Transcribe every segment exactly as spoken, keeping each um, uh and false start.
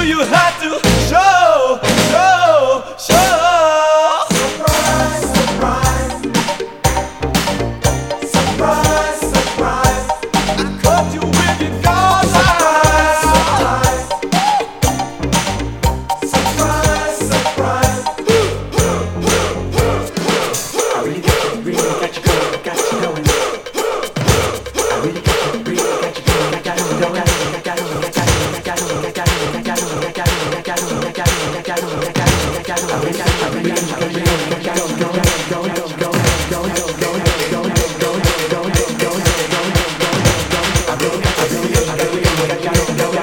you have to show, show, show. Surprise, surprise. Surprise, surprise. I caught you with your guards high. Surprise, surprise. I really got you, really got you going, got you going. I really got you, really got you going, I got you going, I got you, I got you, I got you, I got you, I got you, I got you, I got you, I got you, I got you, I got you, I got you, I got you, I really got you, I really got you, I really got you, go, go, go, go, go, go, go, go, go, go, go, go, go, I really got you, really got you, I really got you, I got you, go, go,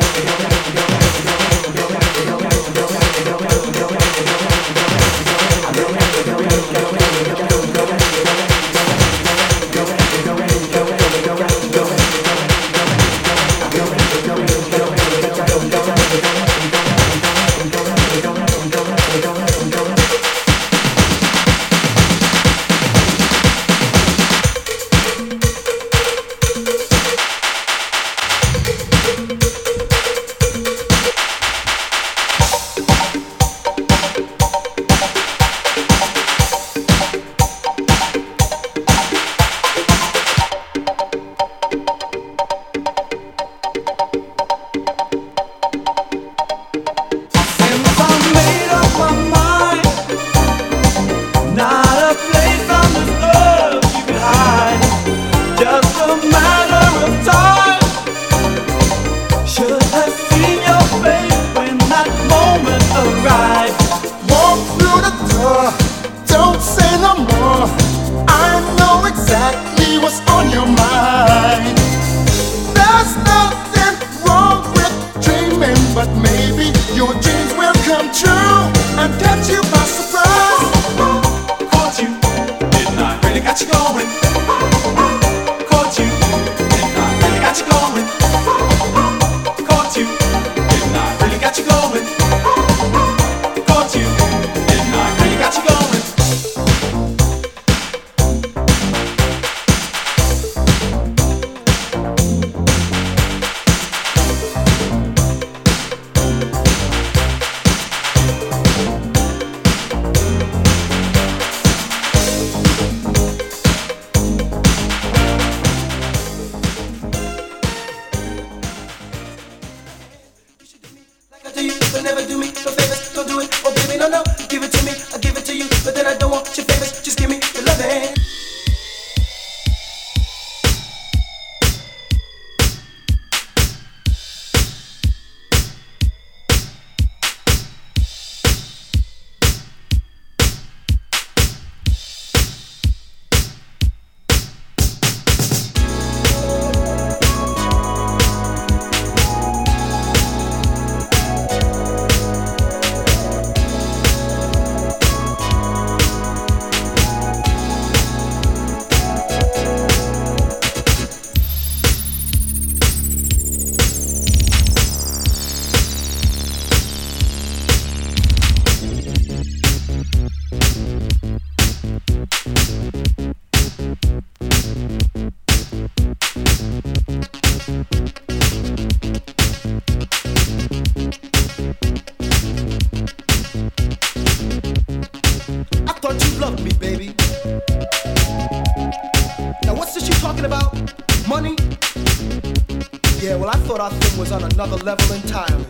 Another level entirely.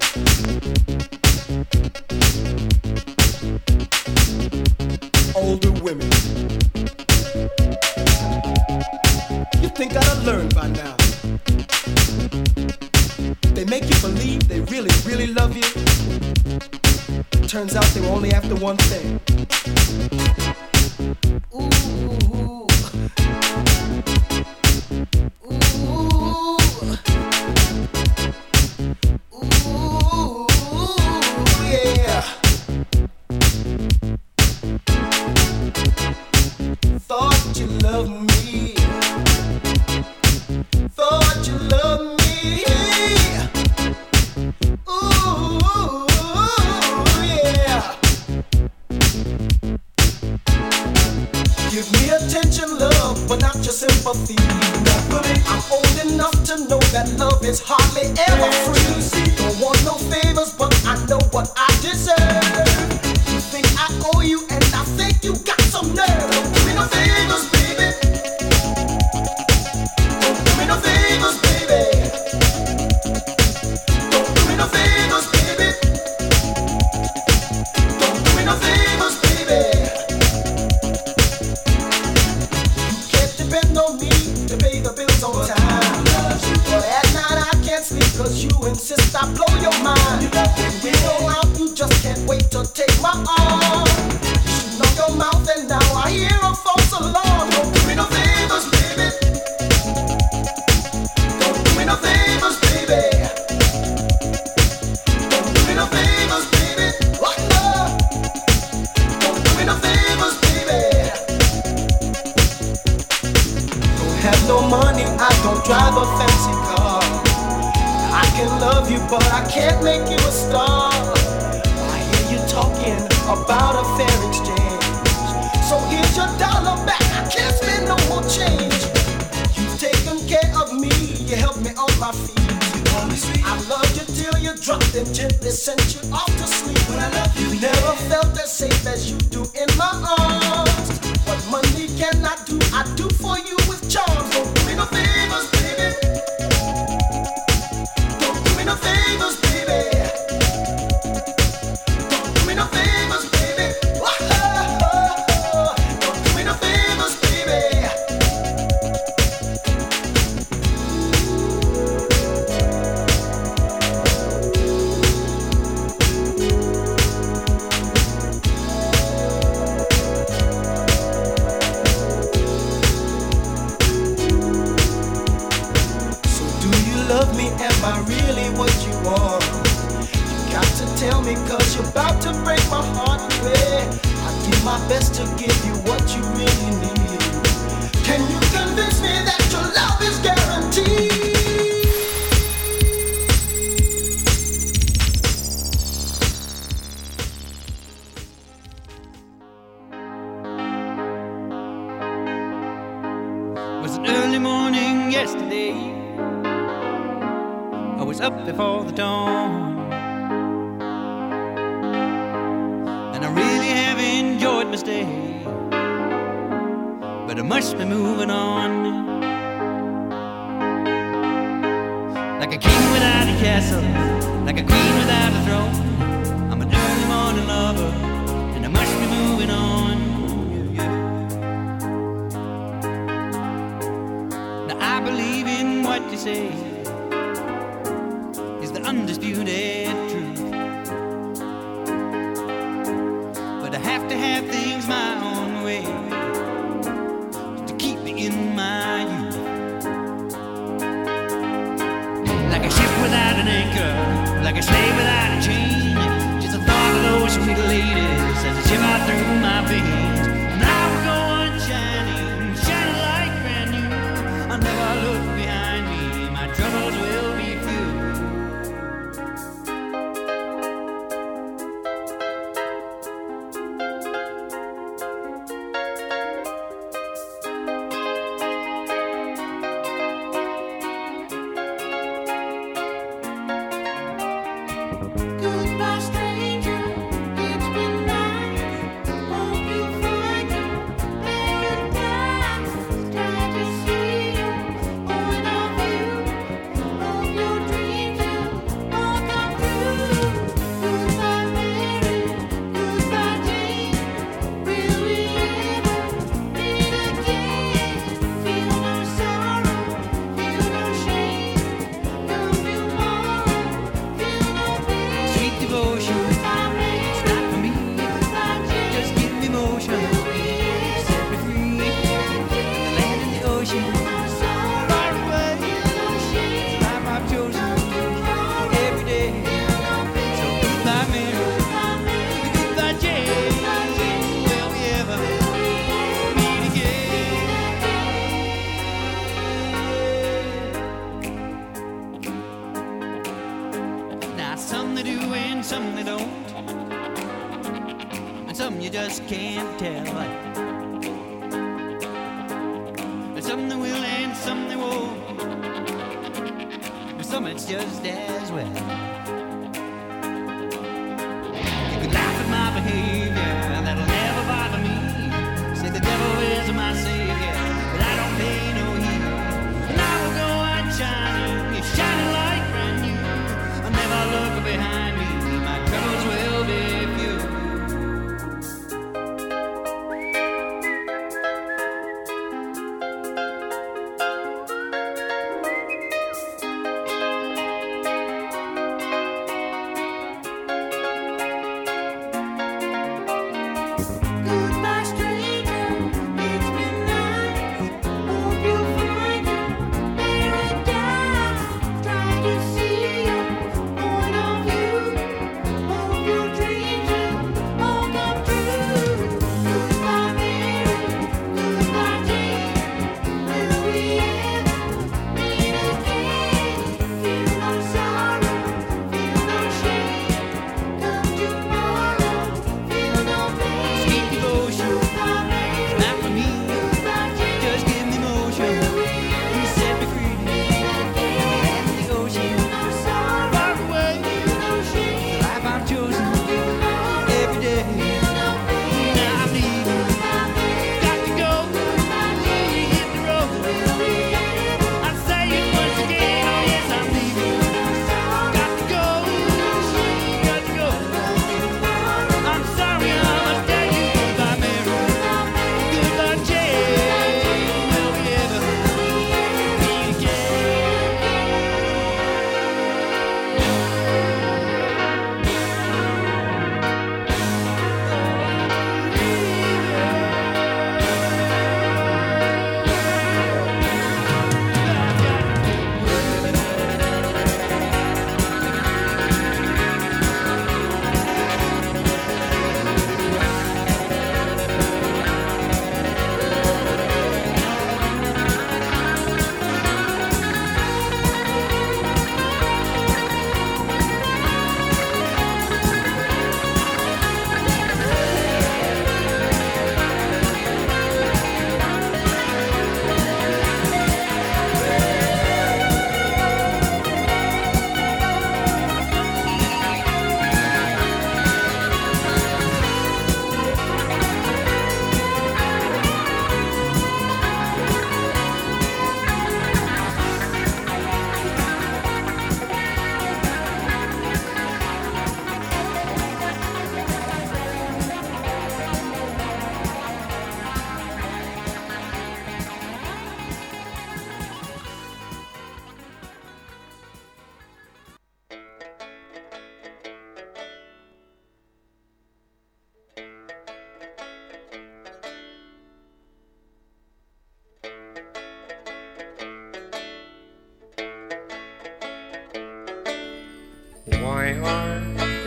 Older women. You think I'd have learned by now. They make you believe they really, really love you. Turns out they were only after one thing. Ooh. Sympathy. I'm old enough to know that love is hardly ever free. Don't want no favors, but I know your mind. When we go out, you just can't wait to take my arm. Shooting off your mouth and now I hear a false alarm. Don't do me no favors, baby. Don't do me no favors, baby. Don't do me no favors, baby. What love? Don't do me no favors, baby. Don't have no money, I don't drive a fancy car. I can love you, but I can't make you a star. I hear you talking about a fair exchange. So here's your dollar back, I can't spend no more change. You've taken care of me, you helped me on my feet. I loved you till you dropped and gently sent you off to sleep. When I love you, never felt as safe as you do in my arms. What money can I do, I do for you with charms. Don't do me no favors, baby. Don't do me no favors, baby. Don't do me no favors, baby. Oh, don't do me no favors, baby. Love me, am I really what you want? You got to tell me, cause you're about to break my heart, baby. I do my best to give you what you really need. Can you convince me that your love is guaranteed? It was an early morning yesterday. I was up before the dawn, and I really have enjoyed my stay, but I must be moving on. Like a king without a castle, like a queen without a throne, I'm an early morning lover, and I must be moving on. Yeah, yeah. Now I believe in what you say, undisputed truth, but I have to have things my own way to keep me in my youth. Like a ship without an anchor, like a slave without a chain, just the thought of those sweet ladies as they shiver through my veins. And I will go on shining, shining like brand new. I'll never look behind me, my troubles will be few. Goodbye, stranger. It's been nice. Hope you find your paradise. Glad to see you, point of view. Hope your dreams will all come true. Goodbye, Mary. Goodbye, Jane. Will we ever meet again? Feel no sorrow, feel no shame. No tomorrow, feel no pain. Sweet devotion, it's not for me. Just give me motion, set me free. The land and the ocean, far away. It's life I've chosen every day. So goodbye, Mary, goodbye, Jane. Will we ever meet again? Now some they do and some they don't, and some you just can't tell. And some they will and some they won't, and some it's just as well. You can laugh at my behavior, that'll never bother me. Say the devil is my savior, but I don't pay no heed. And I will go on shining, it's shining like brand new. I'll never look behind me, my troubles will be few.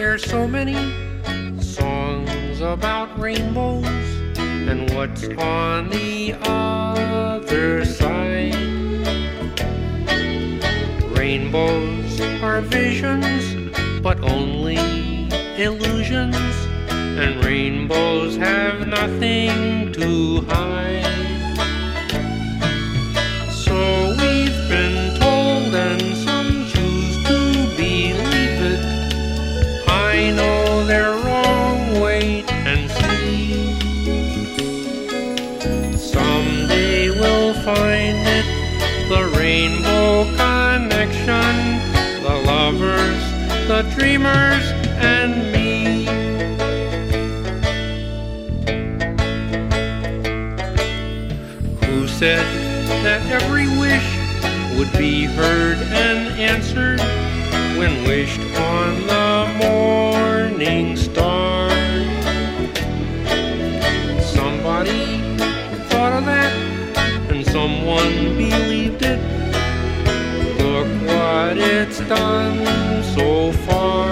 There's so many songs about rainbows and what's on the other side. Rainbows are visions, but only illusions, and rainbows have nothing to hide. So we've been told, and some choose to believe it. I know they're wrong, wait and see. Someday we'll find it, the rainbow connection, the lovers, the dreamers, and me. Who said that every wish would be heard and answered when wished on the morning star? Somebody thought of that, and someone believed it. Look what it's done so far.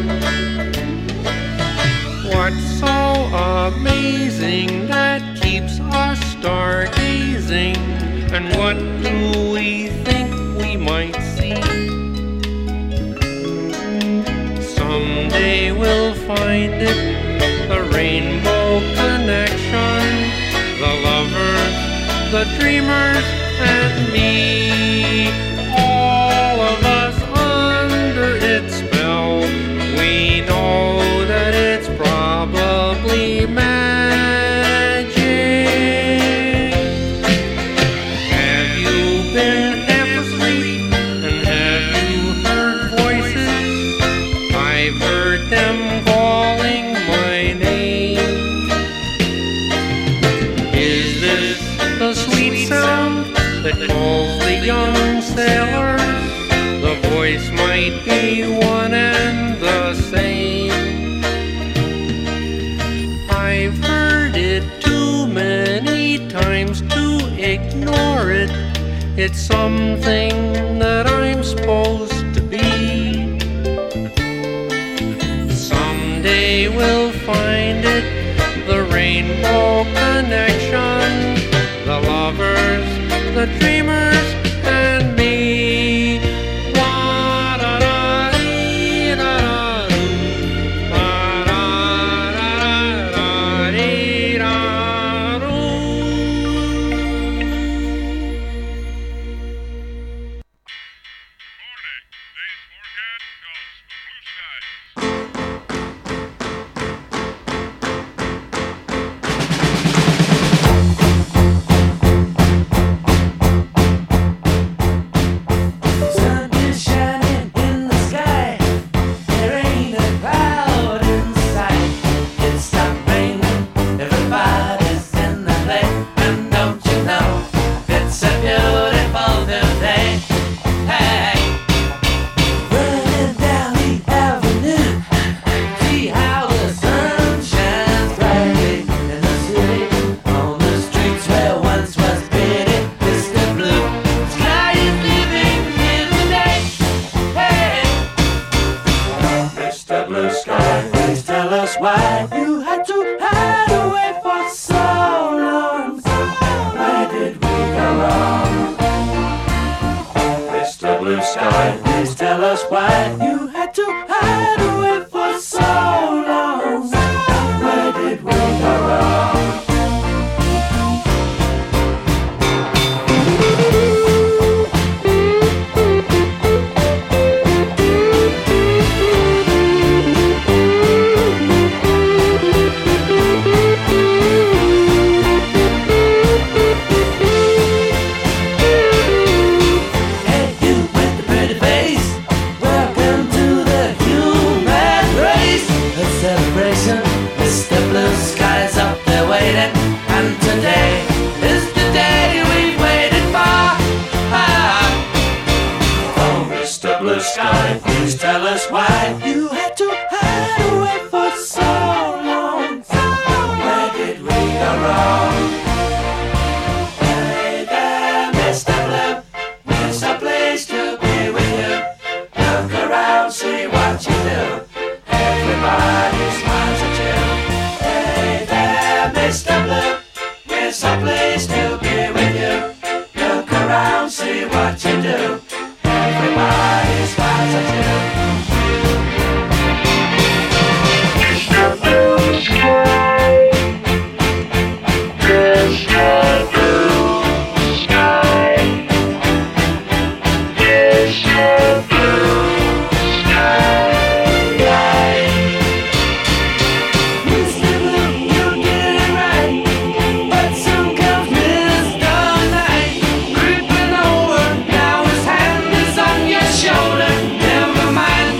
What's so amazing that keeps us stargazing? And what do we think we might see? Someday we'll find it, the rainbow connection, the lovers, the dreamers, and me. All of us under its spell, we know that it's probably magic. Have you been half asleep, and have you heard voices? I've heard them calling my name. Is this the sweet sound that calls the young sailors? The voice might be one and the same. I've heard it too many times to ignore it. It's something that I'm supposed to be. Someday we'll find it, the rainbow connection, the lovers, the dreamers, and me. Hey, you with the pretty face, welcome to Mister Blue, we're so pleased to be with you. Look around, see what you do. Everybody smiles at you. Creeping over, now his hand is on your shoulder. Never mind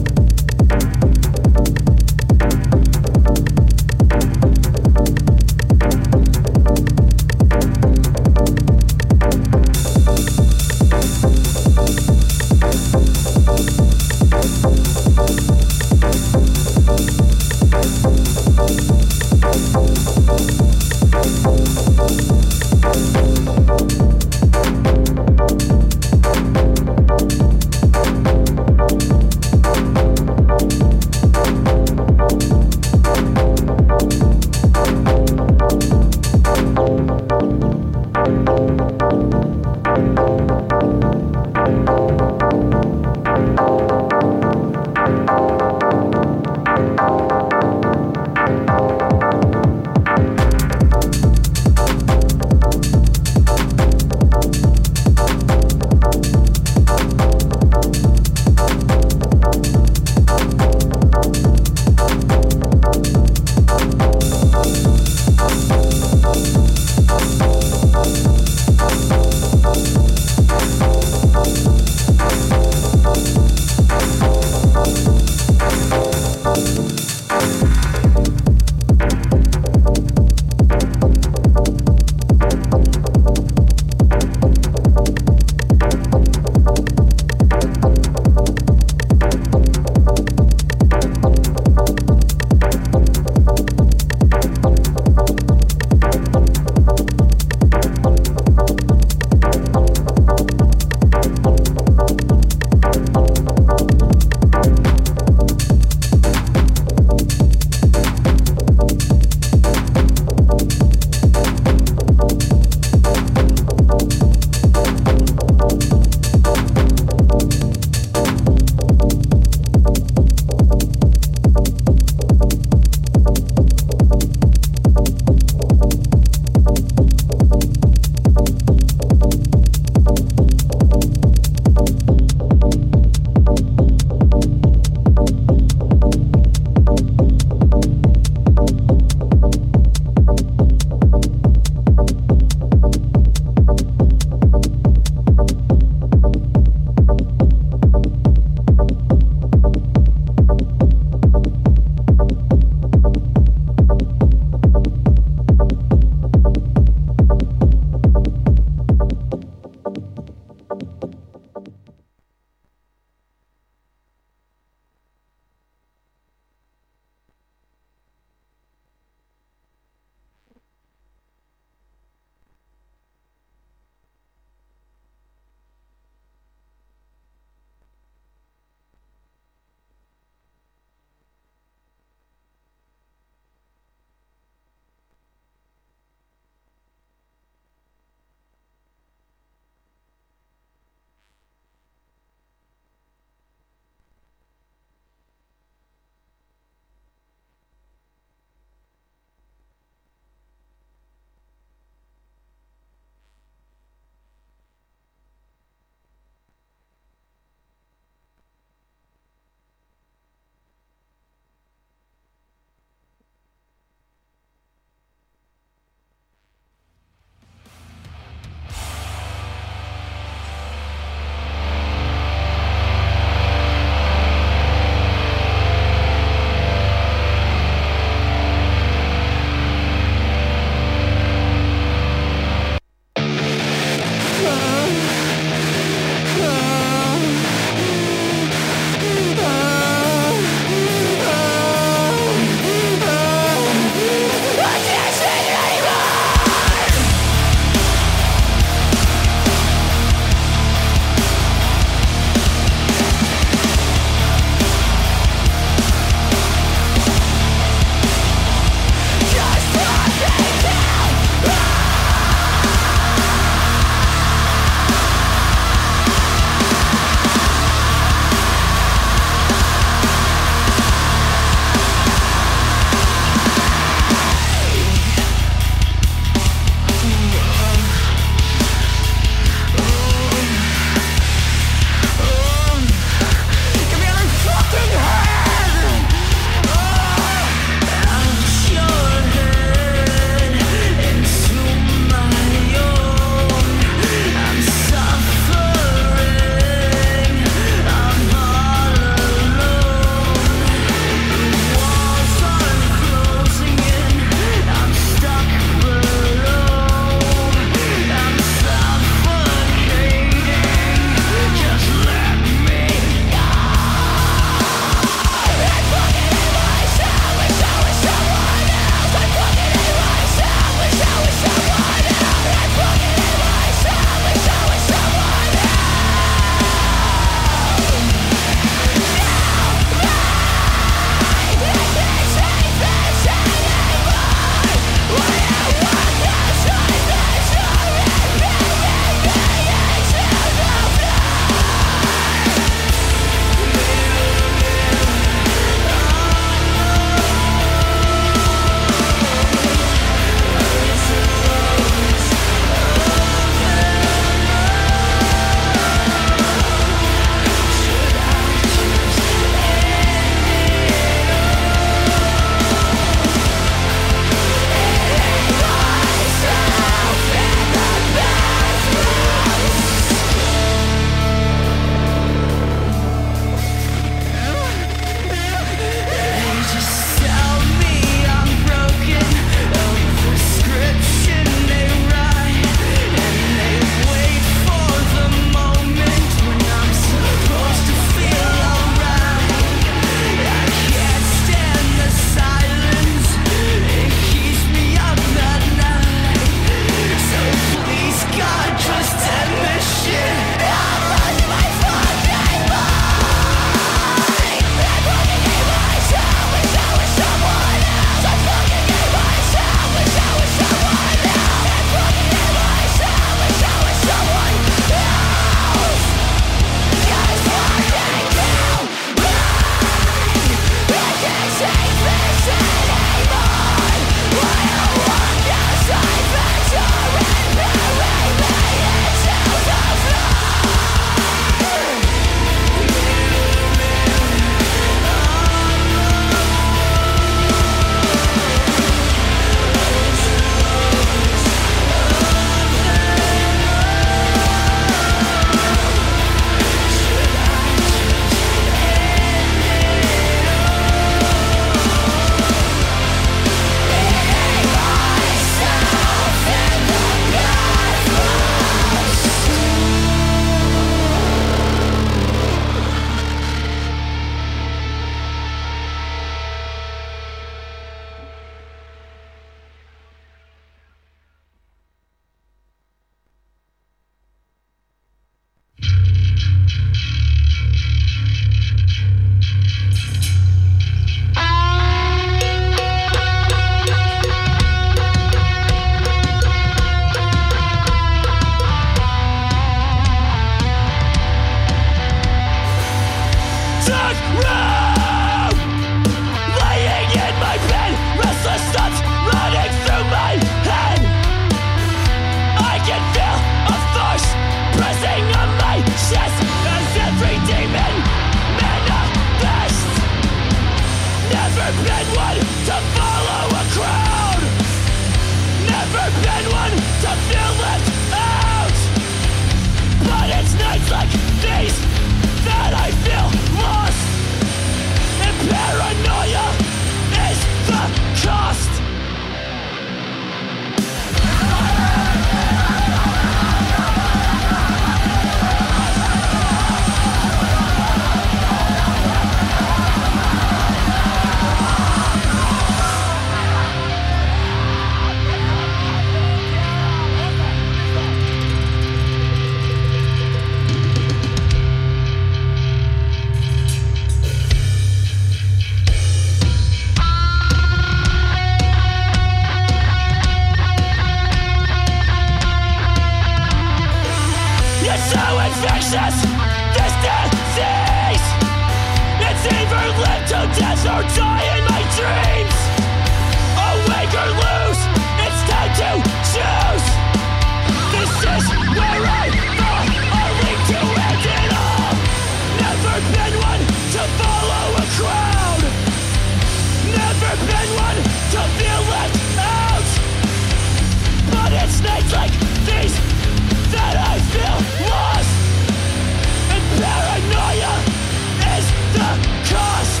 or die in my dreams. Awake or lose, it's time to choose. This is where I fall, only to end it all. Never been one to follow a crowd. Never been one to feel left out. But it's nights like these that I feel lost. And paranoia is the cost.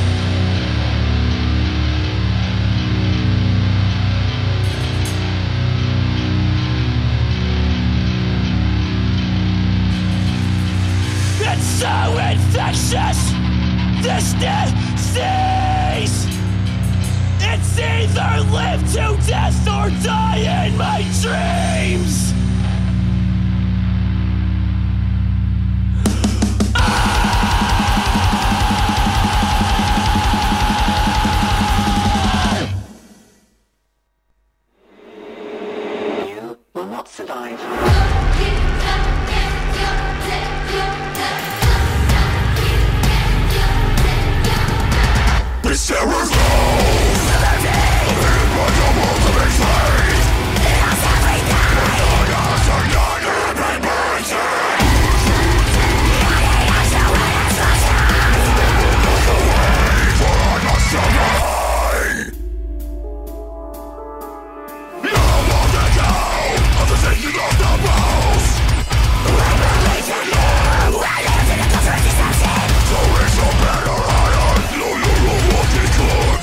It's so infectious, this disease. It's either live to death or die in my dreams. You will not survive. This terror's low. My double to be slaves. It has everything. It has So it's a better I know you will walk it good.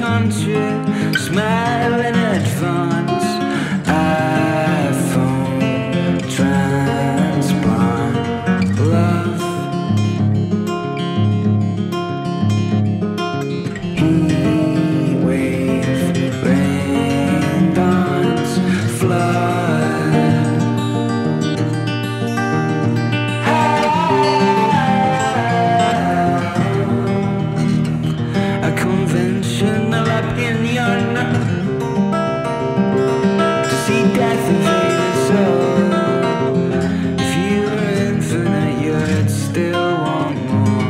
country, smile in advance. iPhone transplant love. Heat wave, rain dance, flood. A conventional opinion to see death invade us all. If you were infinite, you'd still want more.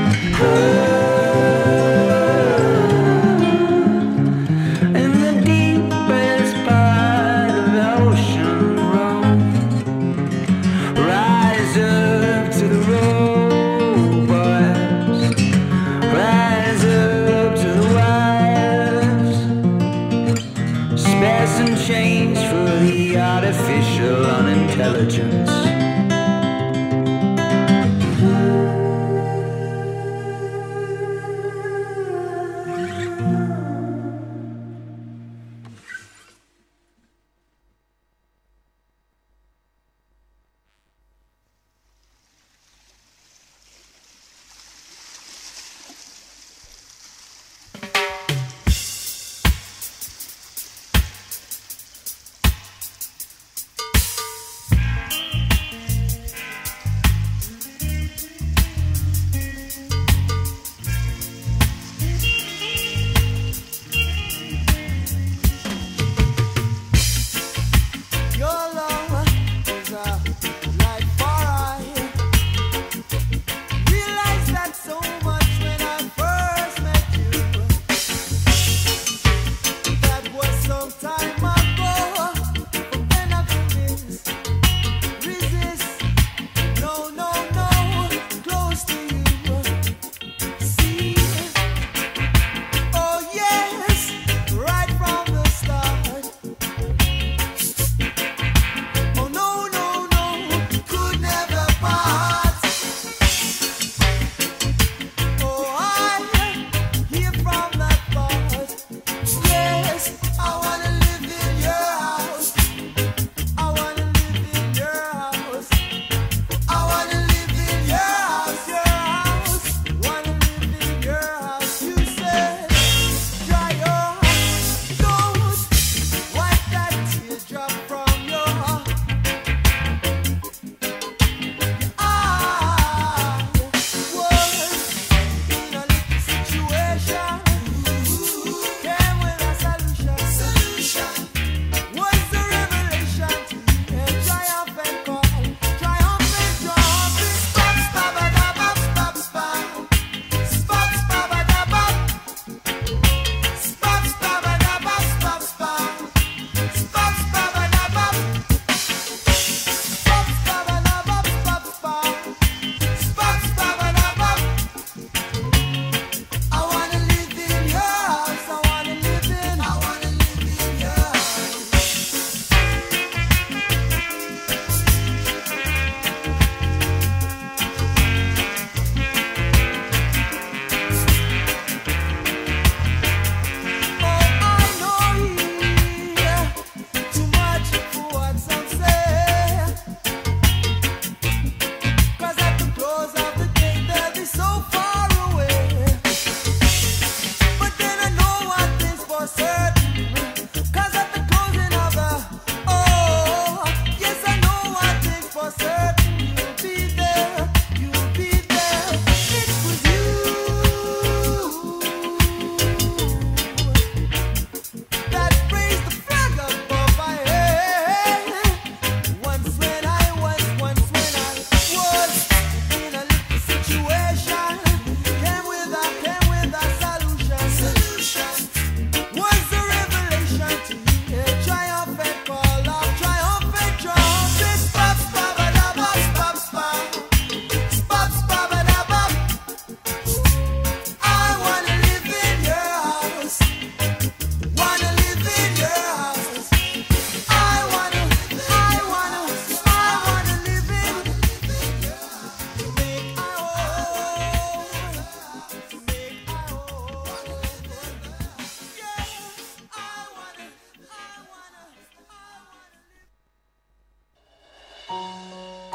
In the deepest part of the ocean, roam. Rise up to the robots. Rise up to the wires.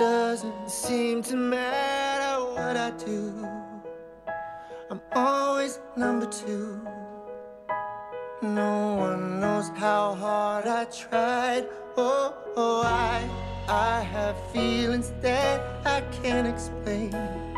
doesn't seem to matter what I do. I'm always number two. No one knows how hard I tried. Oh, oh, I, I have feelings that I can't explain,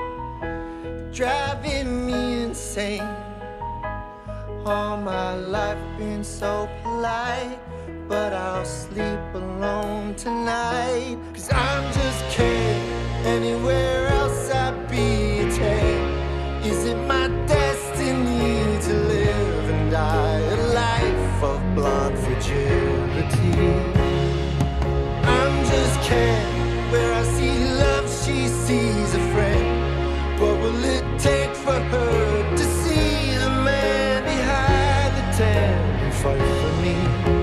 driving me insane. All my life been so polite, but I'll sleep alone tonight. Cause I'm just kidding, anywhere else I'd be a tame. Is it my destiny to live and die a life of blonde fragility? I'm just kidding, where I see love she sees a friend. What will it take for her to see the man behind the tent and fight for me?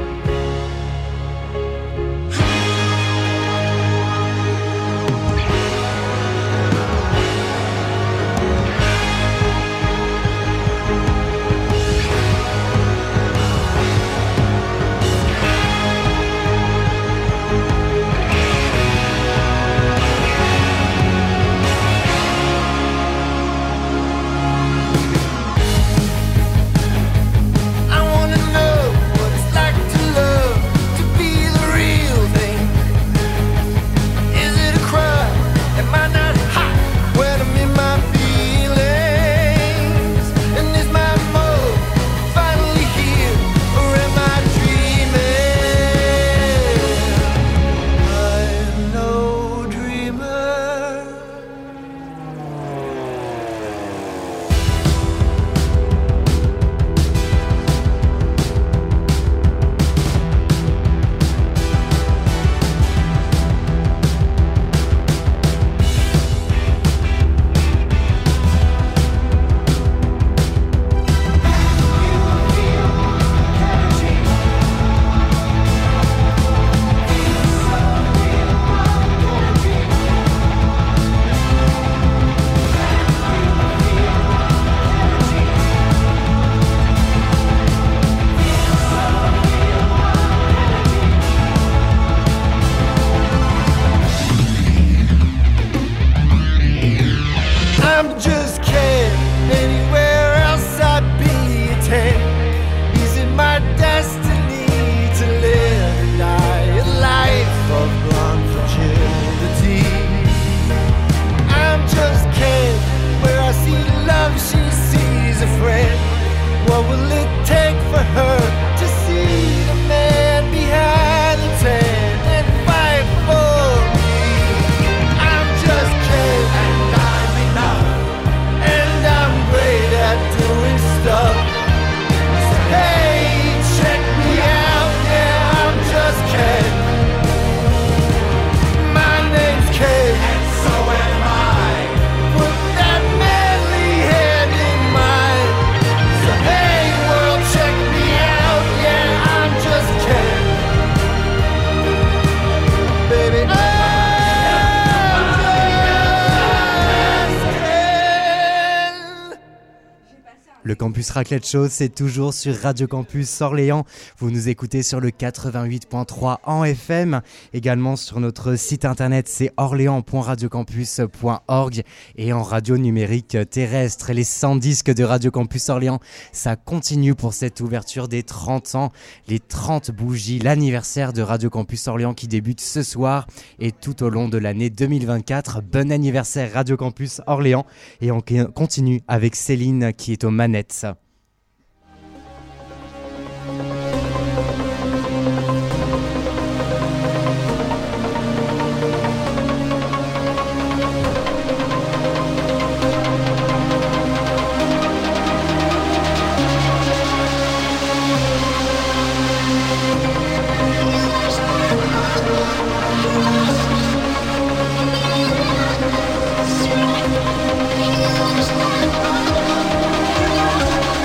Le Campus Raclette Show, c'est toujours sur Radio Campus Orléans. Vous nous écoutez sur le quatre-vingt-huit point trois en F M. Également sur notre site internet, c'est orléans point radiocampus point org. Et en radio numérique terrestre, les cent disques de Radio Campus Orléans, ça continue pour cette ouverture des trente ans. Les trente bougies, l'anniversaire de Radio Campus Orléans qui débute ce soir et tout au long de l'année deux mille vingt-quatre. Bon anniversaire Radio Campus Orléans. Et on continue avec Céline qui est aux manettes. Thank you.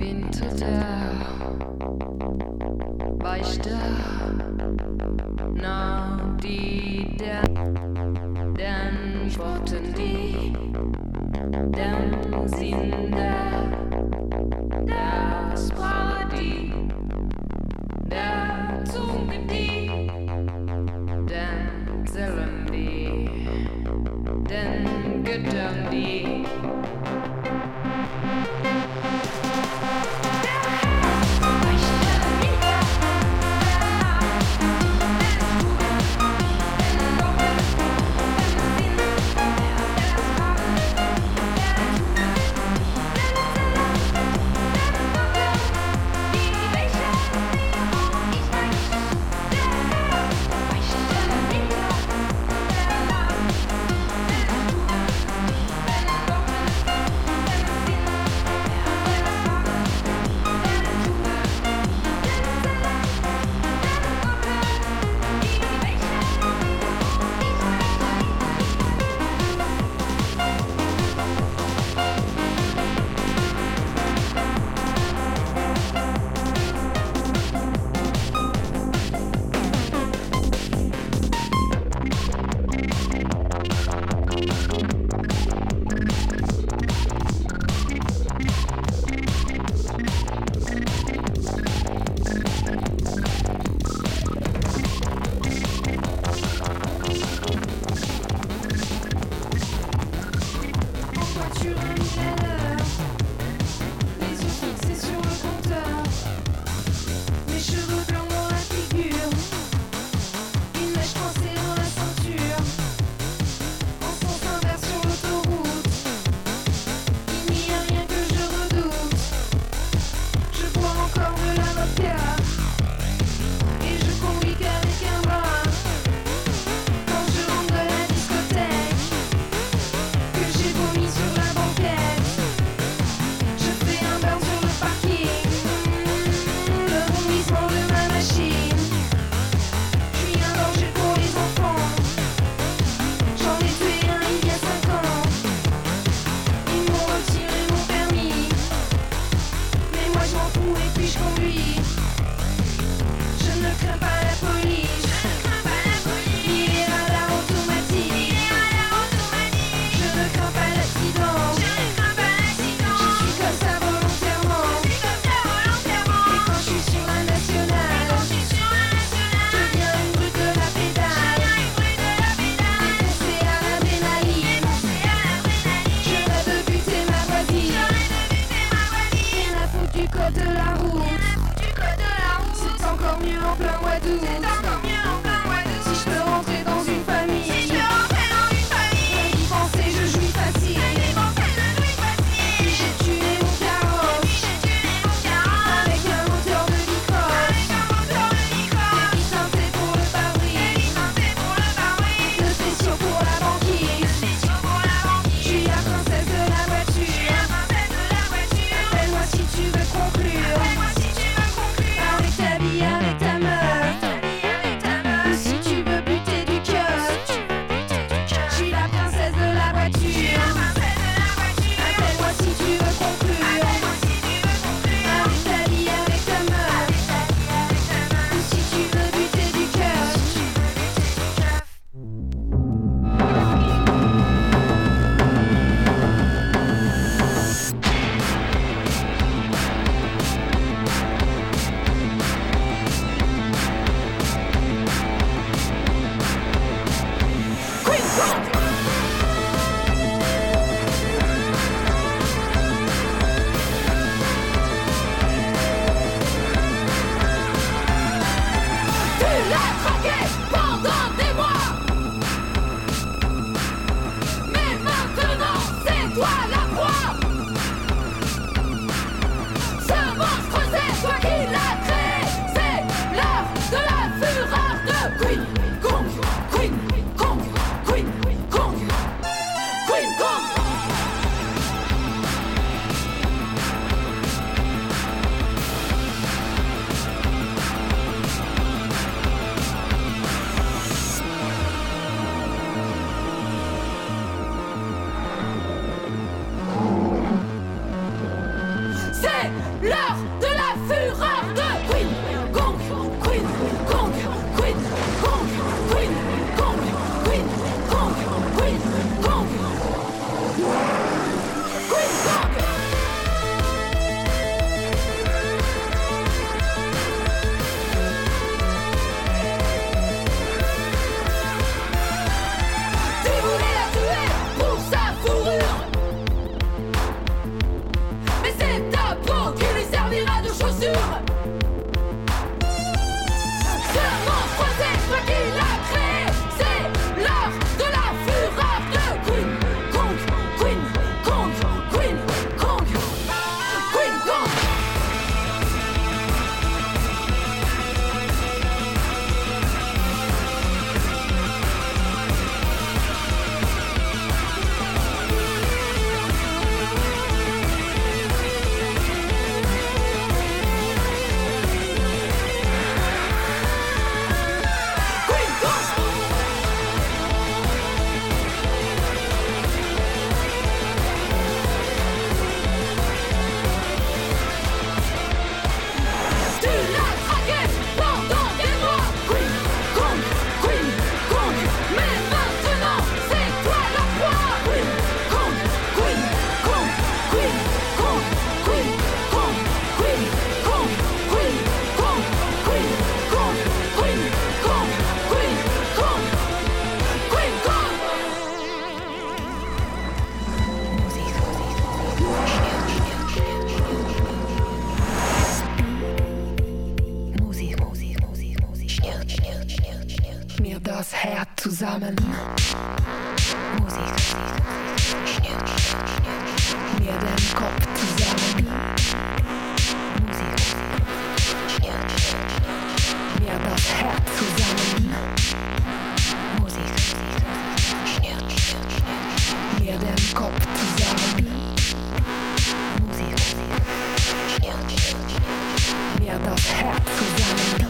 Winter da, war ich da, na die da, dann spotten die, dann sind da, das Party, da zogen die, dann zählen die, dann göttern die. Avec ta vie, avec ta meuf. l'heure de la fureur de Queen Gong, Queen Gong, Queen Gong, Queen Gong, Queen Gong, Queen Gong, Queen Gong. Tu voulais la tuer pour sa fourrure, mais c'est ta peau qui lui servira de chaussure. Ce monstre, c'est toi qui l'as créé. C'est l'heure de la fureur de Queen Gong, Queen Gong, Queen Gong, Queen Gong. Queen Gong. Tu l'as traqué pendant des mois. Queen Gong, Queen Gong, mais maintenant c'est toi la proie. Queen Gong, Queen Gong, Queen Gong, Queen Gong, Queen Gong, Queen Gong, Queen Gong, Queen Gong, Queen Gong, Queen Gong. Musik, Musik, Musik, Musik, schnirrt, schnirrt, schnirrt, schnirrt mir das Herz zusammen. Musik, schnirrt, schnirrt, schnirrt mir den Kopf zusammen. Musik, schnirrt, schnirrt mir das Herz zusammen. Musik, schnirrt, schnirrt, schnirrt mir den Kopf zusammen. Musik, schnirrt, schnirrt, schnirrt mir das Herz zusammen.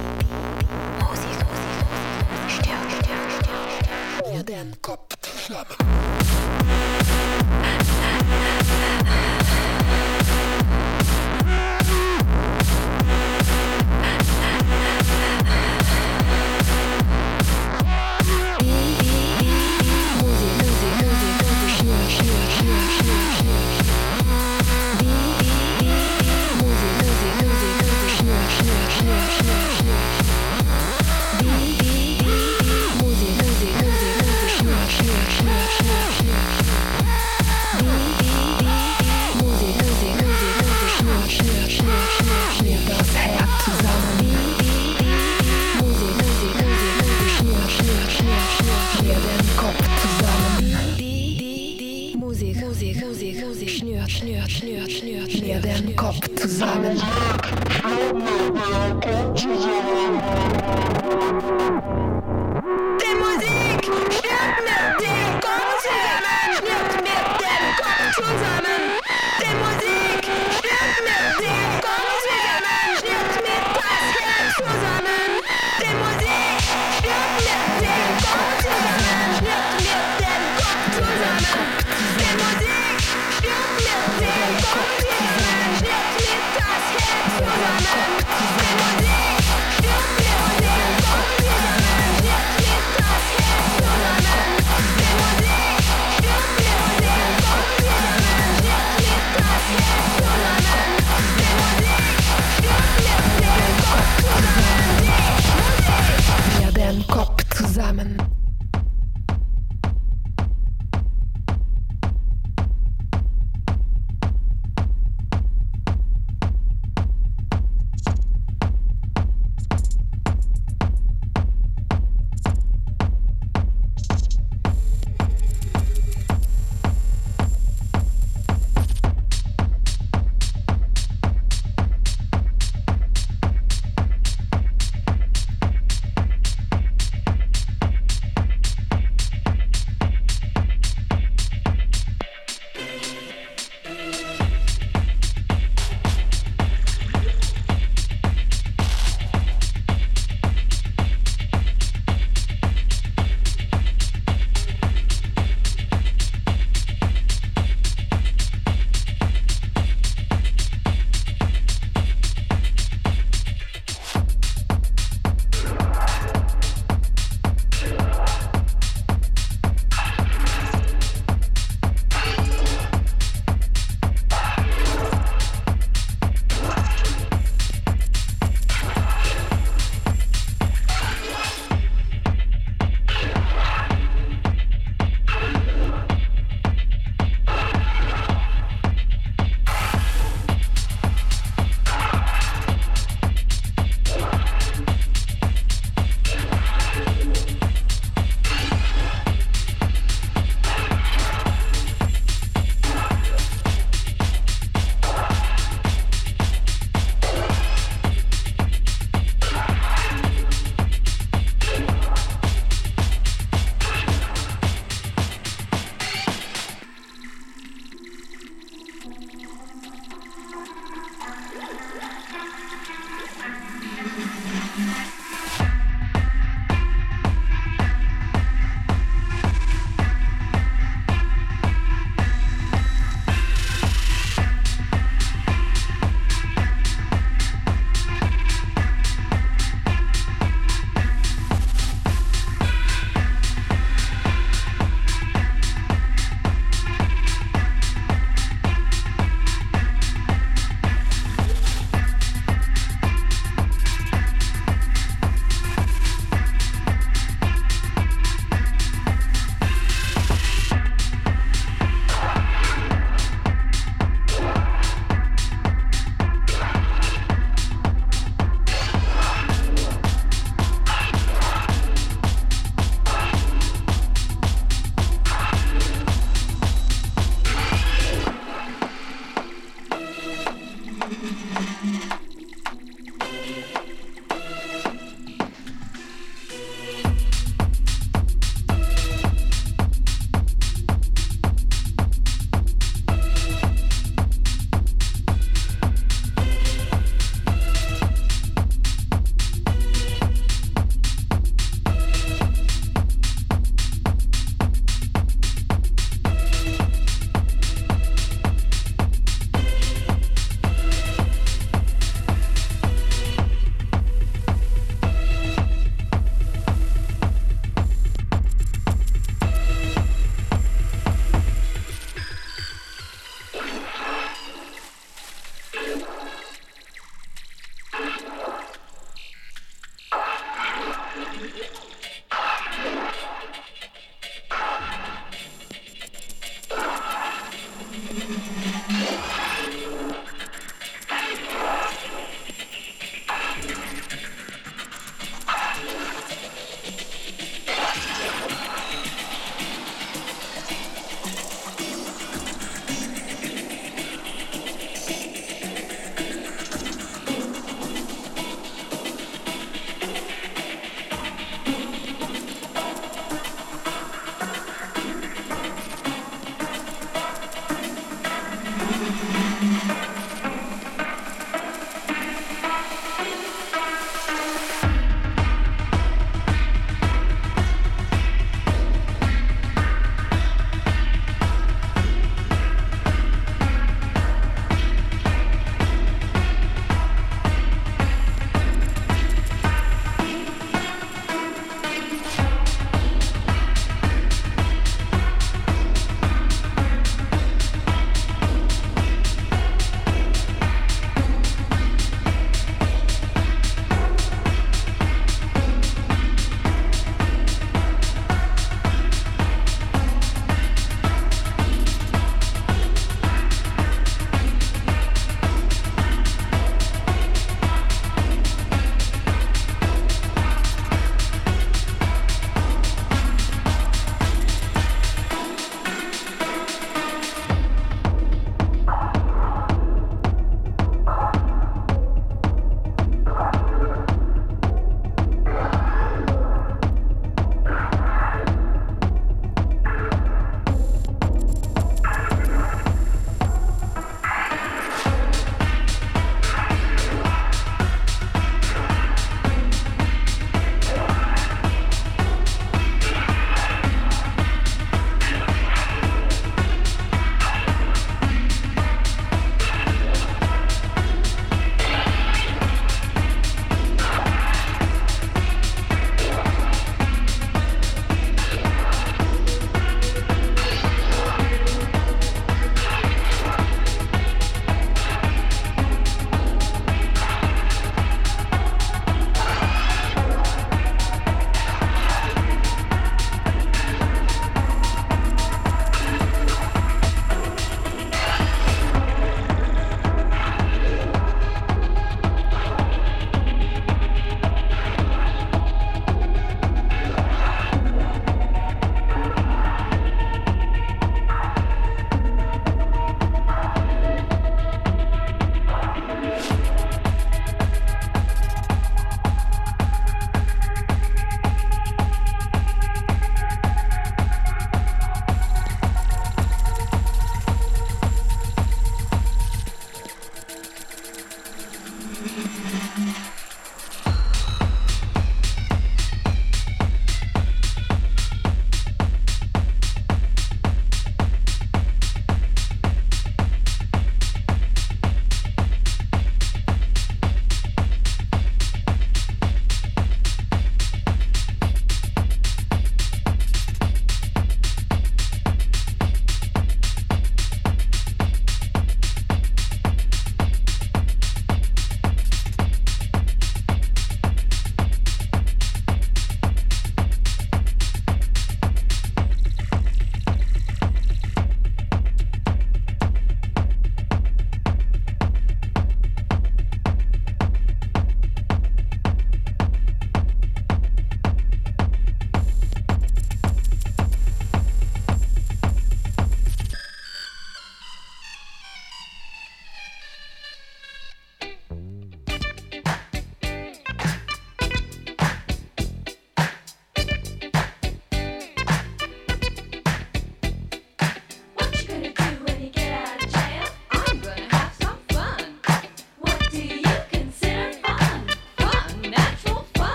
Musik, schnirrt, schnirrt, schnirrt mir den Kopf zusammen. Musik,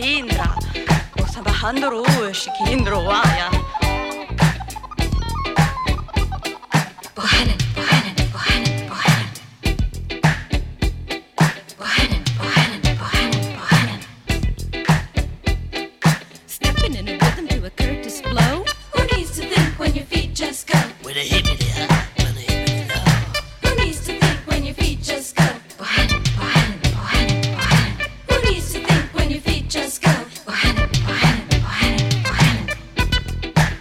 Hindra. Och sen bajando rush, Hindro, vaya. Bohanan, Bohanan, Bohanan, Bohanan. Bohanan, Bohanan, Bohanan, Bohanan. Stepping in a rhythm to a Curtis blow. Who needs to think when your feet just go? With a hippity hop, with a hippity low. Who needs to think when your feet just go? Bohanan, Bohanan, Bohanan, Bohanan. Who needs to think when your feet just go? Bohanan, Bohanan, Bohanan, Bohanan.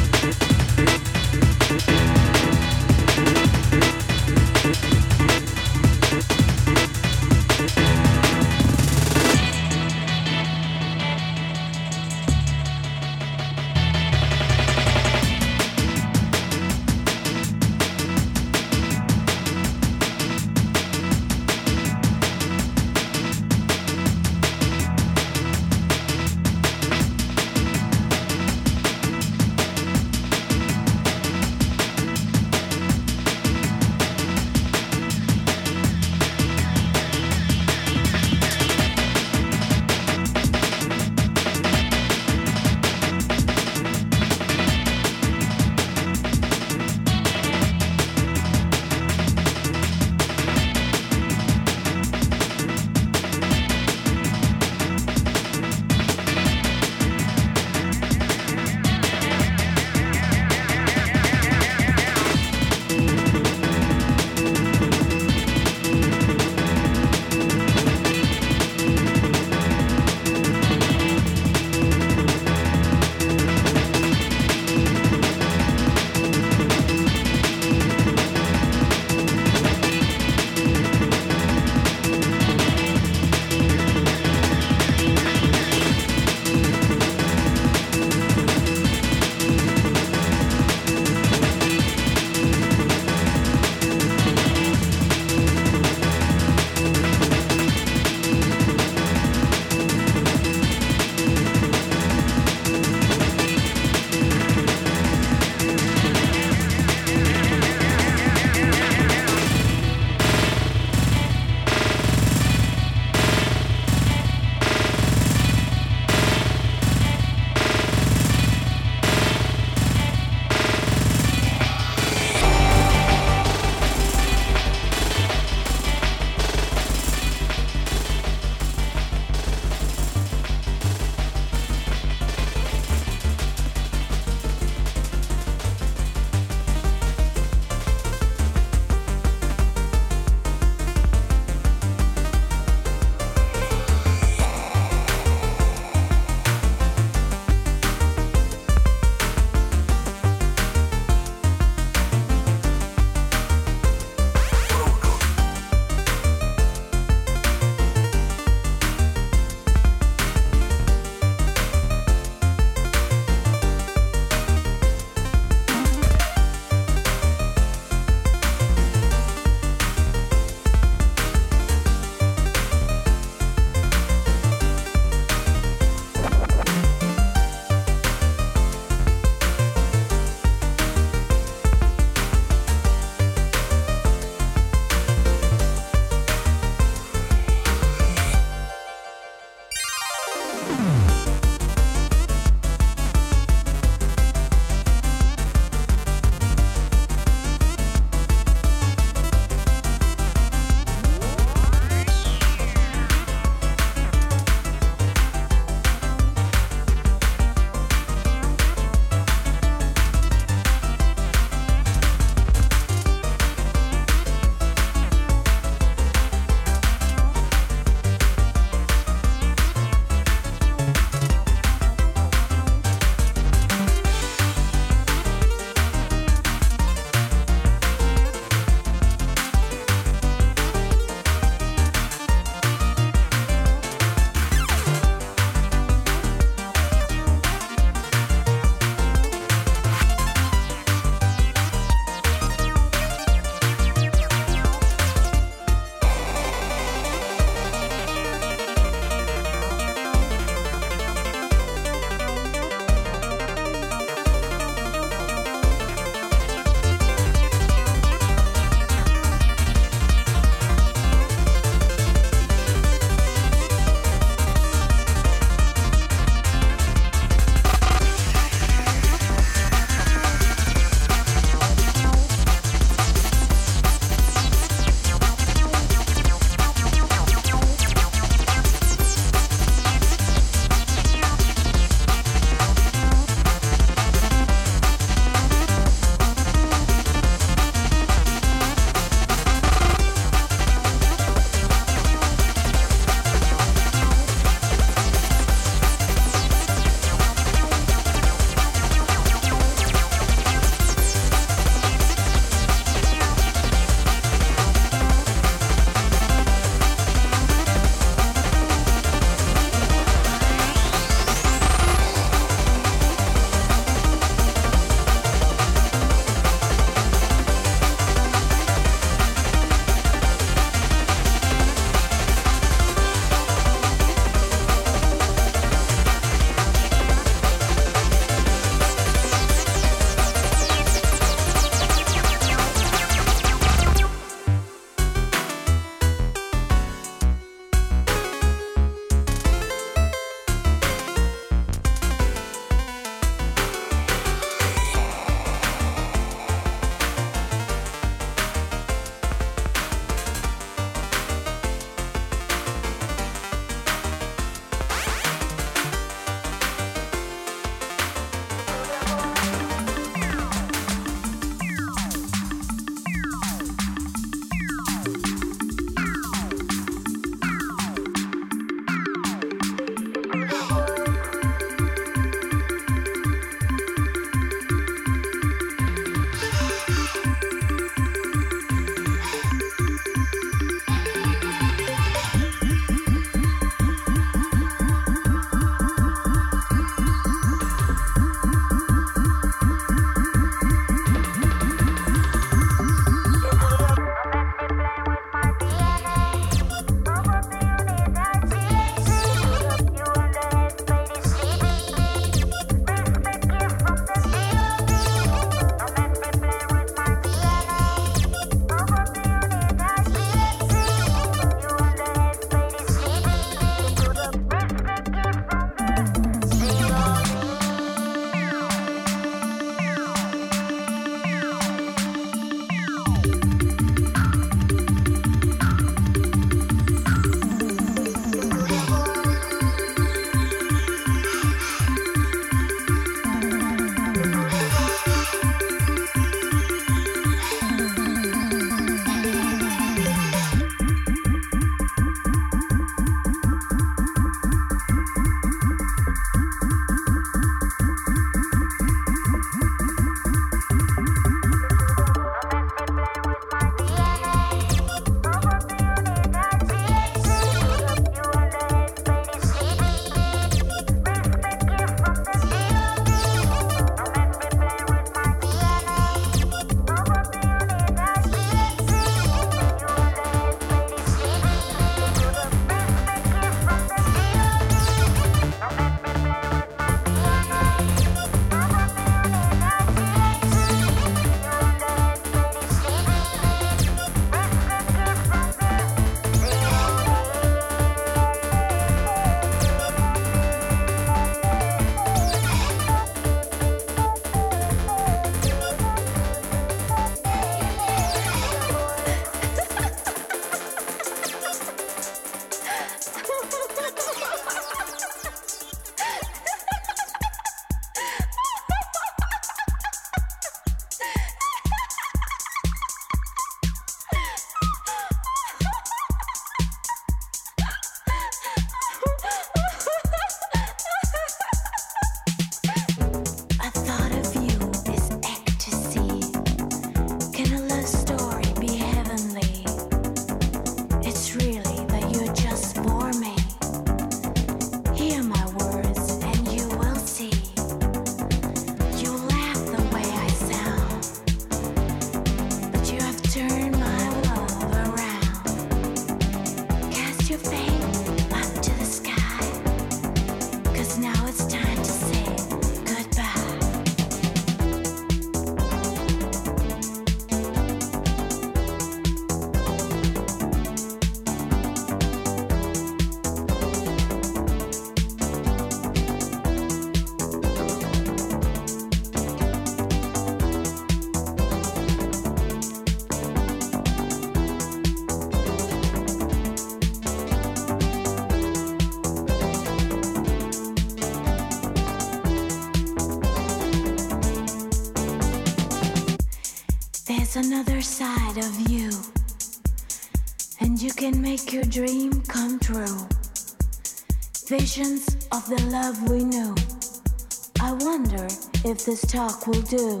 another side of you, and you can make your dream come true. Visions of the love we knew. I wonder if this talk will do.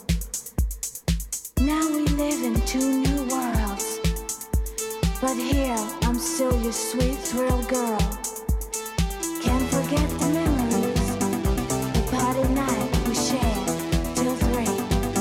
Now we live in two new worlds, but here I'm still your sweet thrill girl. Can't forget the memories, the party night we shared till three.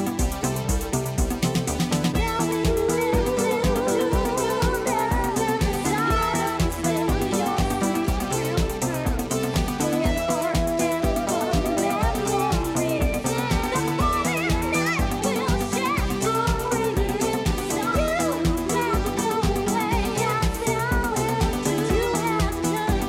Now we live in two worlds, still your thrill girl. Can't forget the memories, the party night we'll share till three. So you never go away, I tell you, you have to.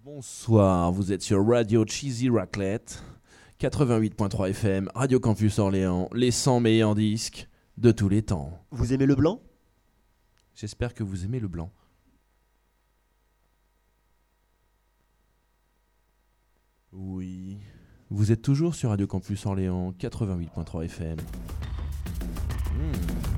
Bonsoir, vous êtes sur Radio Cheesy Raclette, quatre-vingt-huit point trois F M, Radio Campus Orléans, les cent meilleurs disques de tous les temps. Vous aimez le blanc ? J'espère que vous aimez le blanc. Oui, vous êtes toujours sur Radio Campus Orléans, quatre-vingt-huit point trois F M. Hmm.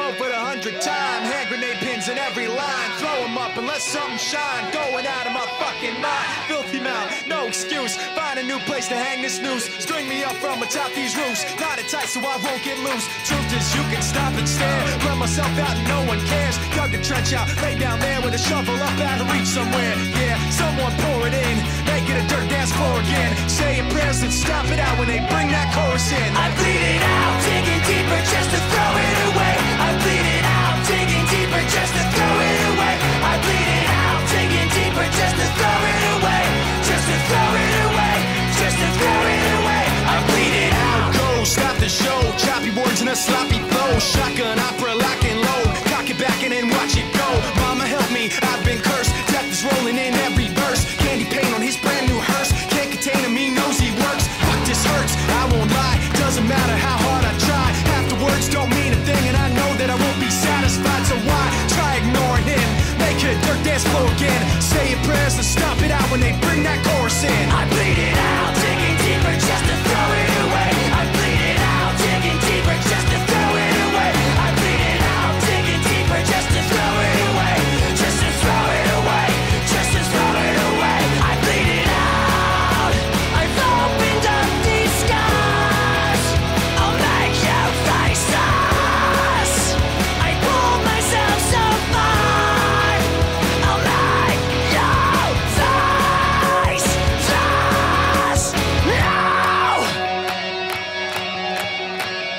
reload for the hundredth time. Hand grenade pins in every line. Throw them up and let something shine. Going out of my fucking mind. Filthy mouth, no excuse. Find a new place to hang this noose. String me up from atop these roofs. Knot it tight so I won't get loose. Truth is you can stop and stare. Run myself out and no one cares. Dug a trench out, lay down there with a shovel up out of reach somewhere. Yeah, someone pour it in. Make it a dirt dance floor again. Saying prayers and stop it out when they bring that chorus in. I bleed it out, digging deeper just to throw it away. I bleed it out, digging deeper just to throw it away. I bleed it out, digging deeper just to throw it away. Just to throw it away, just to throw it away. I bleed it out. Go, stop the show. Choppy words in a sloppy flow. Shotgun opera, lock and load. Cock it back and then watch it go. Mama help me, I've been cursed. Death is rolling in every verse. Candy paint on his brand new hearse. Can't contain him, he knows he works. Fuck, this hurts, I won't lie. Doesn't matter how hard I try. Half the words don't mean a thing, and I know that I won't be satisfied. So why try ignoring him? Make it a dirt dance floor again. Say your prayers and stomp it out when they bring that chorus in. I bleed it out, digging deeper just to throw it away. I bleed it out, digging deeper just to throw it away. I bleed it out, digging deeper just to throw it away. Just to throw it away, just to throw it away. I bleed it out. I've opened up these skies. I'll make you face us. I pulled myself so far. I'll make you face us. No!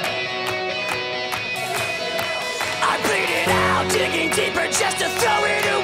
I bleed it out, digging deeper just to throw it away.